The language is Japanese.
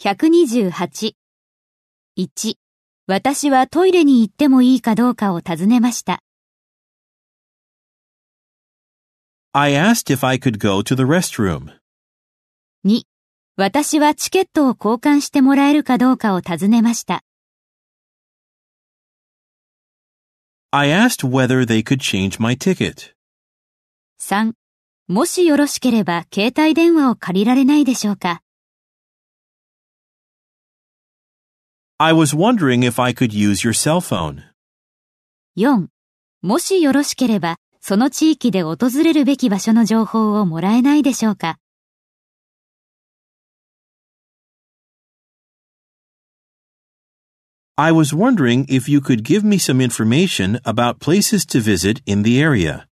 128。1、私はトイレに行ってもいいかどうかを尋ねました。 I asked if I could go to the restroom. 2、私はチケットを交換してもらえるかどうかを尋ねました。 I asked whether they could change my ticket. 3、もしよろしければ携帯電話を借りられないでしょうか。 I was wondering if I could use your cell phone. 4、もしよろしければその地域で訪れるべき場所の情報をもらえないでしょうか。 I was wondering if you could give me some information about places to visit in the area.